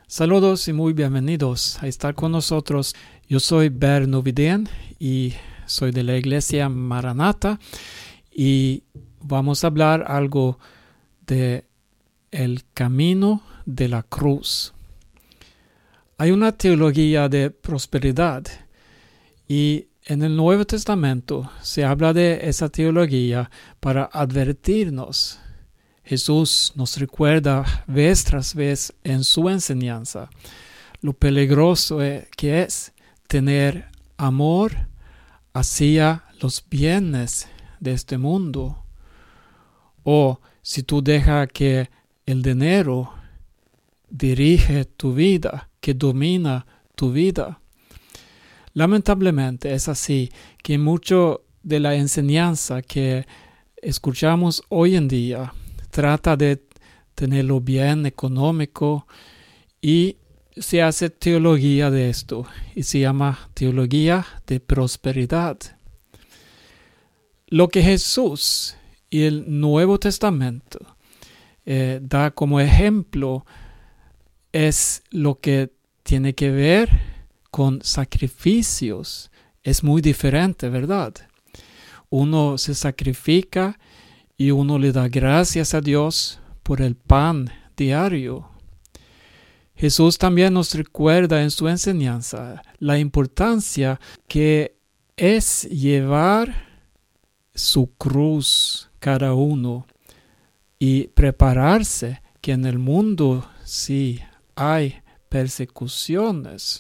Saludos y muy bienvenidos a estar con nosotros. Yo soy Berno Vidén y soy de la Iglesia Maranata y vamos a hablar algo de el camino de la cruz. Hay una teología de prosperidad y en el Nuevo Testamento se habla de esa teología para advertirnos. Jesús nos recuerda vez tras vez en su enseñanza lo peligroso que es tener amor hacia los bienes de este mundo. O si tú dejas que el dinero dirige tu vida, que domina tu vida. Lamentablemente es así que mucho de la enseñanza que escuchamos hoy en día trata de tenerlo bien económico y se hace teología de esto y se llama teología de prosperidad. Lo que Jesús y el Nuevo Testamento da como ejemplo es lo que tiene que ver con sacrificios. Es muy diferente, ¿verdad? Uno se sacrifica y uno le da gracias a Dios por el pan diario. Jesús también nos recuerda en su enseñanza la importancia que es llevar su cruz cada uno y prepararse, que en el mundo sí hay persecuciones.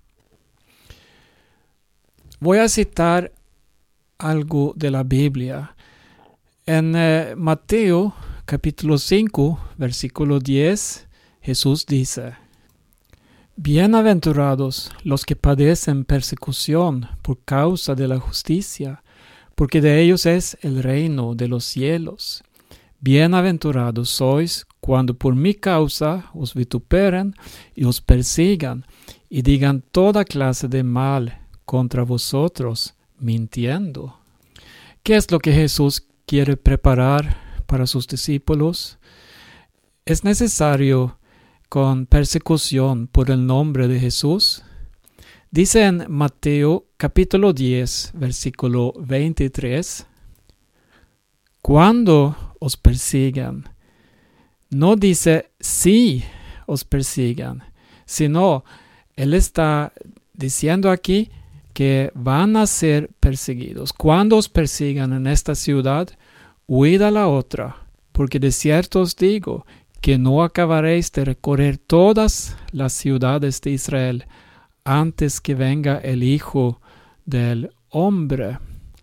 Voy a citar algo de la Biblia. En Mateo capítulo 5, versículo 10, Jesús dice: Bienaventurados los que padecen persecución por causa de la justicia, porque de ellos es el reino de los cielos. Bienaventurados sois cuando por mi causa os vituperen y os persigan y digan toda clase de mal contra vosotros, mintiendo. ¿Qué es lo que Jesús quiere preparar para sus discípulos? ¿Es necesario con persecución por el nombre de Jesús? Dice en Mateo capítulo 10, versículo 23, cuando os persigan, no dice si os persigan, sino Él está diciendo aquí que van a ser perseguidos. Cuando os persigan en esta ciudad, huid a la otra, porque de cierto os digo que no acabaréis de recorrer todas las ciudades de Israel antes que venga el Hijo del Hombre.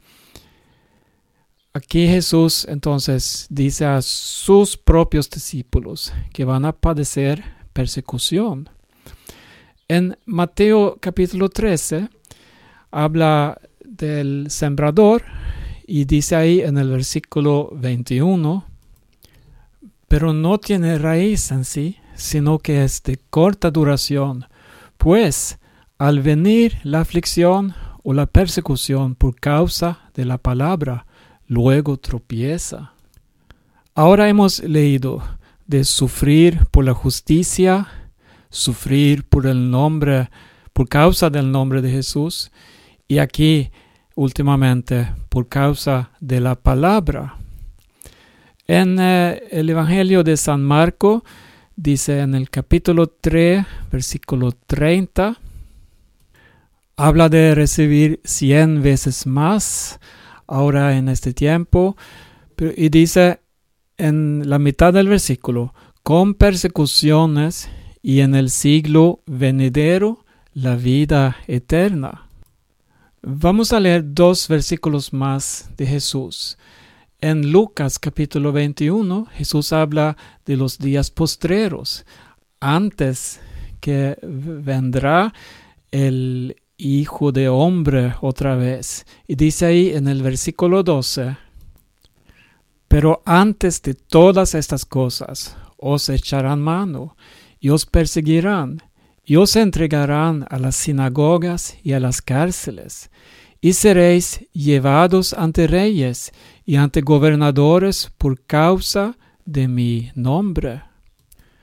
Aquí Jesús entonces dice a sus propios discípulos que van a padecer persecución. En Mateo capítulo 13 habla del sembrador y dice ahí en el versículo 21, pero no tiene raíz en sí, sino que es de corta duración, pues al venir la aflicción o la persecución por causa de la palabra, luego tropieza. Ahora hemos leído de sufrir por la justicia, sufrir por el nombre, por causa del nombre de Jesús, y aquí últimamente por causa de la palabra. En el Evangelio de San Marco dice en el capítulo 3, versículo 30, habla de recibir 100 veces más ahora en este tiempo, y dice en la mitad del versículo, con persecuciones y en el siglo venidero la vida eterna. Vamos a leer 2 versículos más de Jesús. En Lucas capítulo 21, Jesús habla de los días postreros, antes que vendrá el Hijo de Hombre otra vez. Y dice ahí en el versículo 12, pero antes de todas estas cosas os echarán mano y os perseguirán y os entregarán a las sinagogas y a las cárceles y seréis llevados ante reyes y ante gobernadores por causa de mi nombre.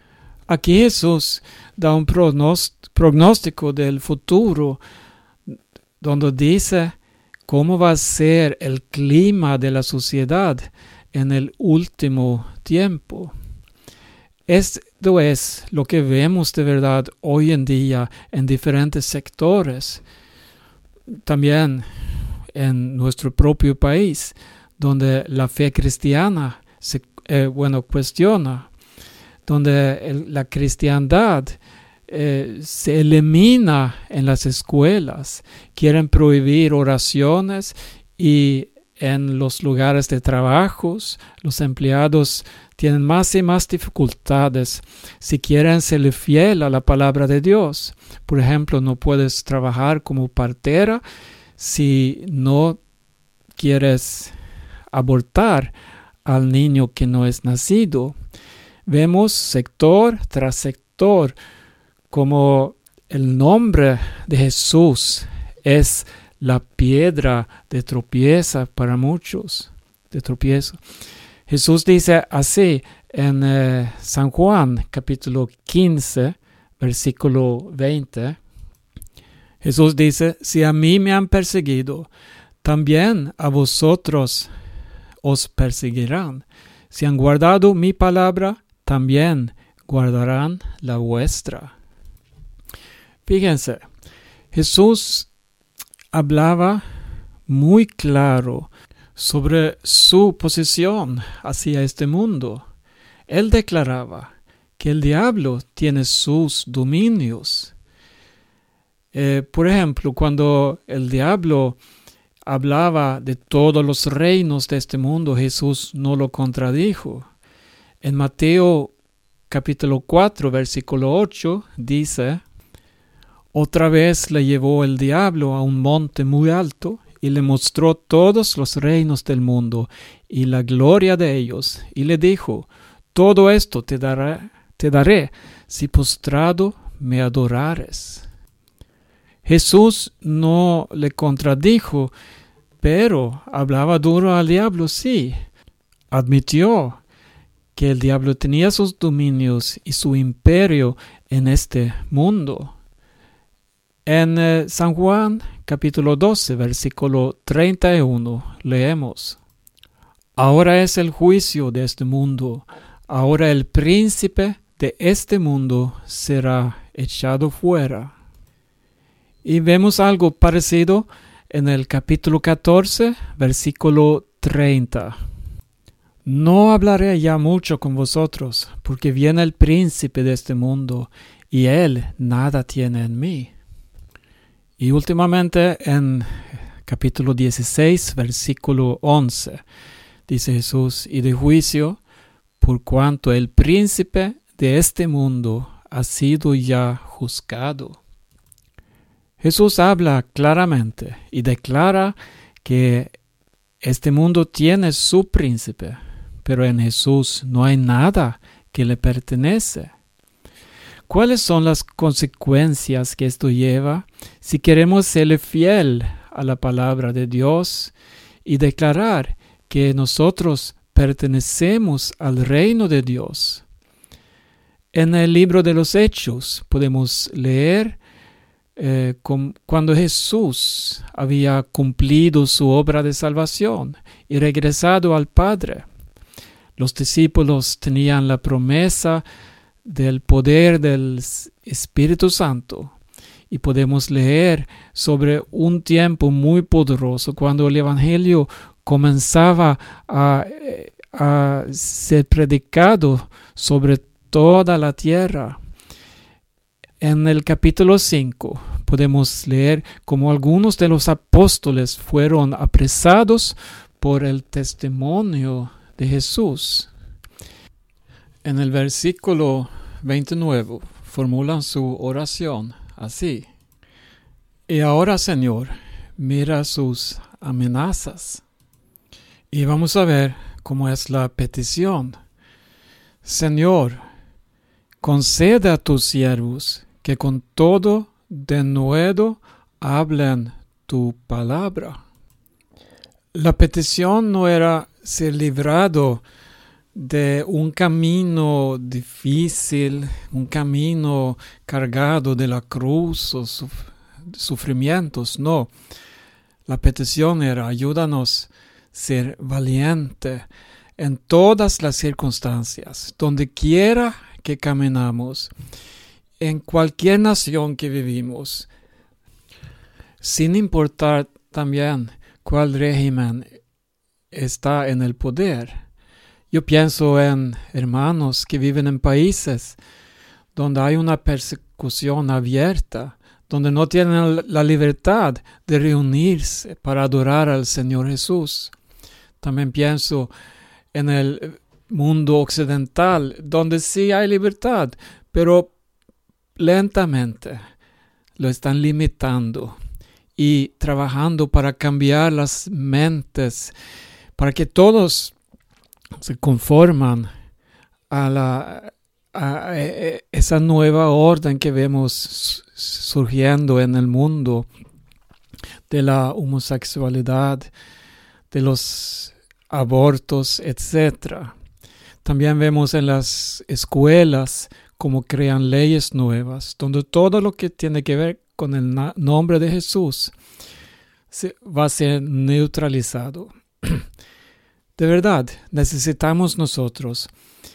Aquí Jesús da un pronóstico del futuro, donde dice cómo va a ser el clima de la sociedad en el último tiempo. Esto es lo que vemos de verdad hoy en día en diferentes sectores, también en nuestro propio país, donde la fe cristiana se cuestiona, donde la cristiandad se elimina en las escuelas, quieren prohibir oraciones y en los lugares de trabajos los empleados tienen más y más dificultades si quieren ser fiel a la palabra de Dios. Por ejemplo, no puedes trabajar como partera si no quieres abortar al niño que no es nacido. Vemos sector tras sector como el nombre de Jesús es la piedra de tropiezo para muchos, de tropiezo. Jesús dice así en San Juan capítulo 15, versículo 20. Jesús dice, si a mí me han perseguido, también a vosotros os perseguirán. Si han guardado mi palabra, también guardarán la vuestra. Fíjense, Jesús hablaba muy claro sobre su posición hacia este mundo. Él declaraba que el diablo tiene sus dominios. Por ejemplo, cuando el diablo hablaba de todos los reinos de este mundo, Jesús no lo contradijo. En Mateo capítulo 4, versículo 8, dice, otra vez le llevó el diablo a un monte muy alto y le mostró todos los reinos del mundo y la gloria de ellos, y le dijo, todo esto te daré si postrado me adorares. Jesús no le contradijo, pero hablaba duro al diablo, sí. Admitió que el diablo tenía sus dominios y su imperio en este mundo. En San Juan capítulo 12, versículo 31, leemos, ahora es el juicio de este mundo, ahora el príncipe de este mundo será echado fuera. Y vemos algo parecido en el capítulo 14, versículo 30. No hablaré ya mucho con vosotros, porque viene el príncipe de este mundo, y él nada tiene en mí. Y últimamente en capítulo 16, versículo 11, dice Jesús, y de juicio, por cuanto el príncipe de este mundo ha sido ya juzgado. Jesús habla claramente y declara que este mundo tiene su príncipe, pero en Jesús no hay nada que le pertenece. ¿Cuáles son las consecuencias que esto lleva si queremos serle fiel a la palabra de Dios y declarar que nosotros pertenecemos al reino de Dios? En el libro de los Hechos podemos leer cuando Jesús había cumplido su obra de salvación y regresado al Padre. Los discípulos tenían la promesa del poder del Espíritu Santo y podemos leer sobre un tiempo muy poderoso cuando el Evangelio comenzaba a ser predicado sobre toda la tierra. En el capítulo 5 podemos leer cómo algunos de los apóstoles fueron apresados por el testimonio de Jesús. En el versículo 29 formulan su oración así. Y ahora, Señor, mira sus amenazas. Y vamos a ver cómo es la petición. Señor, concede a tus siervos que con todo denuedo hablen tu palabra. La petición no era ser librado de un camino difícil, un camino cargado de la cruz o sufrimientos. No, la petición era: ayúdanos a ser valiente en todas las circunstancias, donde quiera que caminamos, en cualquier nación que vivimos, sin importar también cuál régimen está en el poder. Yo pienso en hermanos que viven en países donde hay una persecución abierta, donde no tienen la libertad de reunirse para adorar al Señor Jesús. También pienso en el mundo occidental, donde sí hay libertad, pero lentamente lo están limitando y trabajando para cambiar las mentes, para que todos se conforman a esa nueva orden que vemos surgiendo en el mundo, de la homosexualidad, de los abortos, etc. También vemos en las escuelas cómo crean leyes nuevas, donde todo lo que tiene que ver con el nombre de Jesús va a ser neutralizado. De verdad, necesitamos nosotros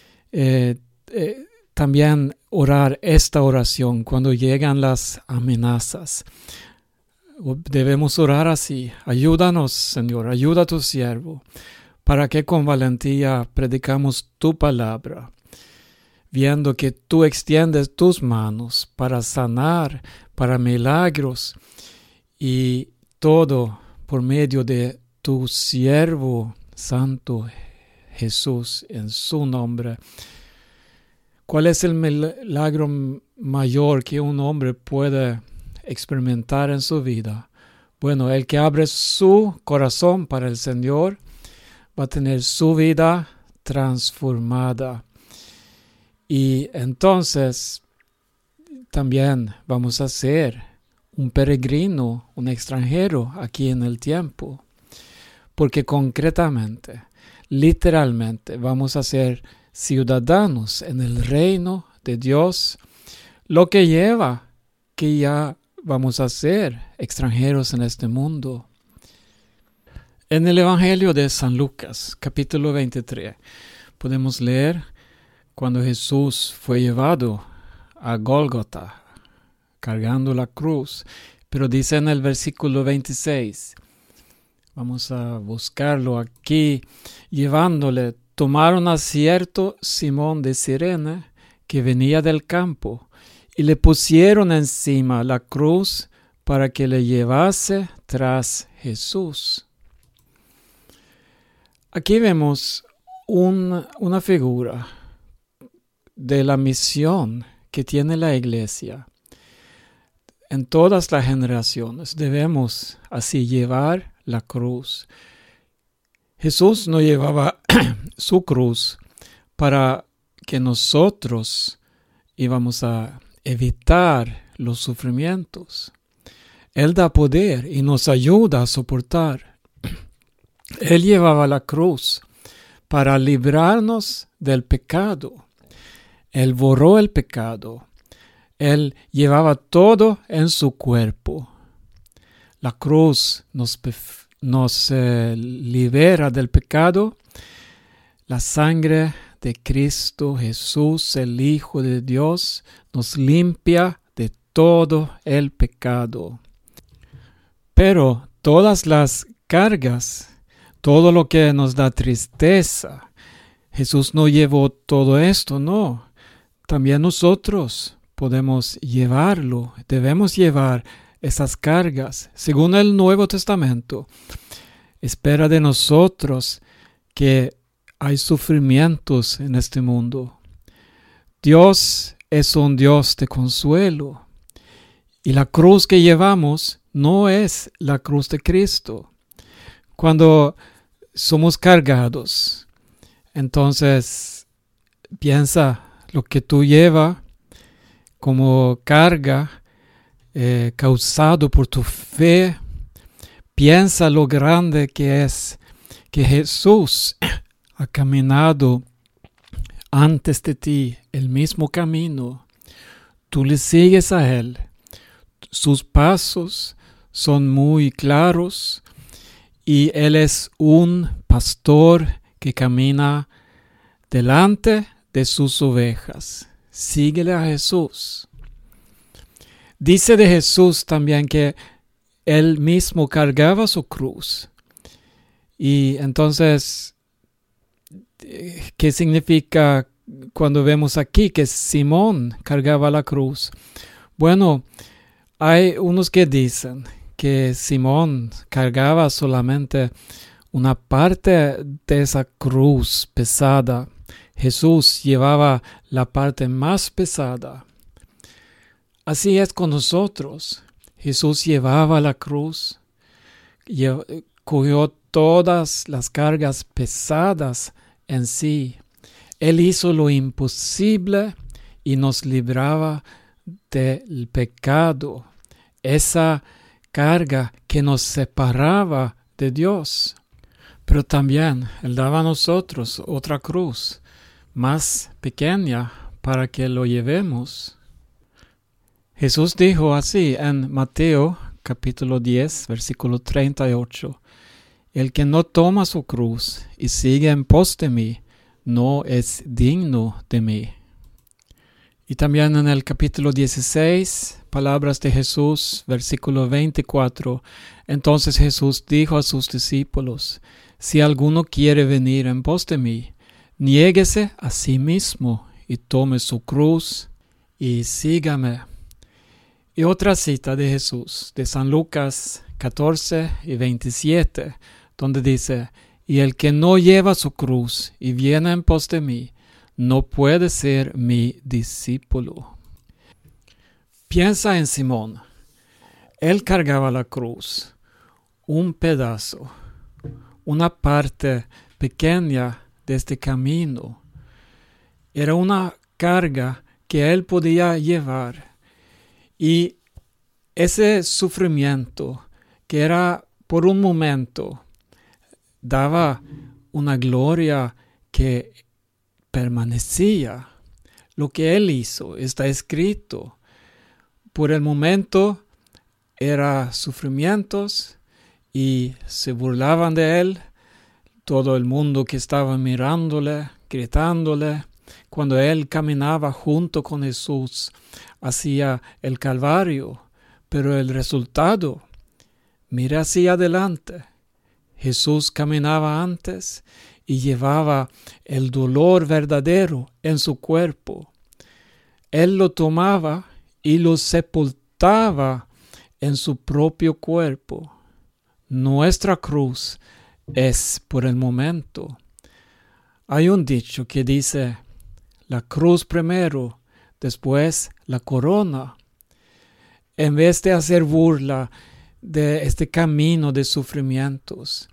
también orar esta oración cuando llegan las amenazas. Debemos orar así: ayúdanos, Señor, ayuda a tu siervo, para que con valentía predicamos tu palabra, viendo que tú extiendes tus manos para sanar, para milagros, y todo por medio de tu siervo Santo Jesús, en su nombre. ¿Cuál es el milagro mayor que un hombre puede experimentar en su vida? Bueno, el que abre su corazón para el Señor va a tener su vida transformada. Y entonces también vamos a ser un peregrino, un extranjero aquí en el tiempo. Porque concretamente, literalmente, vamos a ser ciudadanos en el reino de Dios, lo que lleva que ya vamos a ser extranjeros en este mundo. En el Evangelio de San Lucas, capítulo 23, podemos leer cuando Jesús fue llevado a Gólgota, cargando la cruz. Pero dice en el versículo 26, vamos a buscarlo aquí: llevándole, tomaron a cierto Simón de Cirene, que venía del campo, y le pusieron encima la cruz para que le llevase tras Jesús. Aquí vemos una figura de la misión que tiene la iglesia. En todas las generaciones debemos así llevar la cruz. Jesús no llevaba su cruz para que nosotros íbamos a evitar los sufrimientos. Él da poder y nos ayuda a soportar. Él llevaba la cruz para librarnos del pecado. Él borró el pecado. Él llevaba todo en su cuerpo. La cruz nos libera del pecado. La sangre de Cristo Jesús, el Hijo de Dios, nos limpia de todo el pecado. Pero todas las cargas, todo lo que nos da tristeza, Jesús no llevó todo esto, no. También nosotros podemos llevarlo, debemos llevar esas cargas. Según el Nuevo Testamento, espera de nosotros que hay sufrimientos en este mundo. Dios es un Dios de consuelo. Y la cruz que llevamos no es la cruz de Cristo. Cuando somos cargados, entonces piensa lo que tú llevas como carga causado por tu fe. Piensa lo grande que es que Jesús ha caminado antes de ti el mismo camino. Tú le sigues a Él. Sus pasos son muy claros y Él es un pastor que camina delante de sus ovejas. Síguele a Jesús. Dice de Jesús también que Él mismo cargaba su cruz. Y entonces, ¿qué significa cuando vemos aquí que Simón cargaba la cruz? Bueno, hay unos que dicen que Simón cargaba solamente una parte de esa cruz pesada. Jesús llevaba la parte más pesada. Así es con nosotros. Jesús llevaba la cruz, cogió todas las cargas pesadas en sí. Él hizo lo imposible y nos libraba del pecado, esa carga que nos separaba de Dios. Pero también Él daba a nosotros otra cruz, más pequeña, para que lo llevemos. Jesús dijo así en Mateo capítulo 10, versículo 38. El que no toma su cruz y sigue en pos de mí, no es digno de mí. Y también en el capítulo 16, palabras de Jesús, versículo 24. Entonces Jesús dijo a sus discípulos, si alguno quiere venir en pos de mí, niéguese a sí mismo y tome su cruz y sígame. Y otra cita de Jesús, de San Lucas 14 y 27, donde dice, y el que no lleva su cruz y viene en pos de mí, no puede ser mi discípulo. Piensa en Simón. Él cargaba la cruz, un pedazo, una parte pequeña de este camino. Era una carga que él podía llevar. Y ese sufrimiento, que era por un momento, daba una gloria que permanecía. Lo que él hizo está escrito. Por el momento era sufrimientos y se burlaban de él. Todo el mundo que estaba mirándole, gritándole. Cuando él caminaba junto con Jesús hacia el Calvario. Pero el resultado, mira hacia adelante. Jesús caminaba antes y llevaba el dolor verdadero en su cuerpo. Él lo tomaba y lo sepultaba en su propio cuerpo. Nuestra cruz es por el momento. Hay un dicho que dice, la cruz primero, después la corona. En vez de hacer burla de este camino de sufrimientos,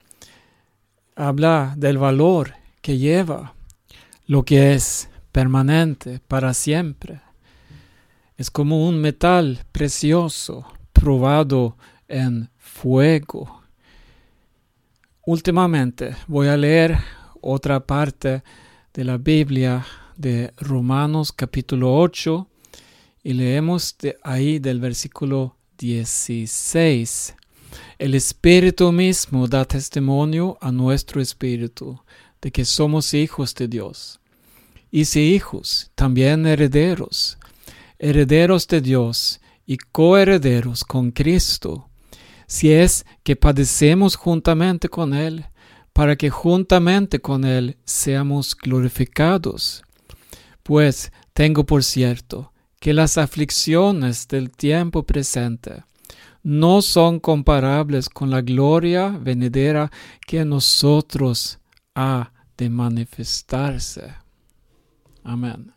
habla del valor que lleva, lo que es permanente para siempre. Es como un metal precioso probado en fuego. Últimamente voy a leer otra parte de la Biblia de Romanos capítulo 8 y leemos de ahí del versículo 16. El Espíritu mismo da testimonio a nuestro espíritu de que somos hijos de Dios. Y si hijos, también herederos, herederos de Dios y coherederos con Cristo, si es que padecemos juntamente con Él, para que juntamente con Él seamos glorificados. Pues tengo por cierto que las aflicciones del tiempo presente no son comparables con la gloria venidera que en nosotros ha de manifestarse. Amén.